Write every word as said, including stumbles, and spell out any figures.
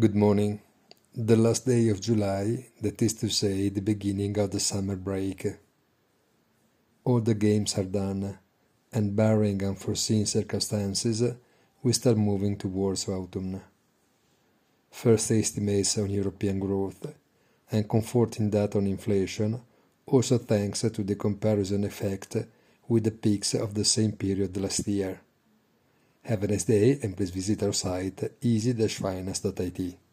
Good morning. The last day of July, that is to say, the beginning of the summer break. All the games are done, and barring unforeseen circumstances, we start moving towards autumn. First estimates on European growth, and comforting data on inflation, also thanks to the comparison effect with the peaks of the same period last year. Have a nice day and please visit our site easy dash finance dot I T.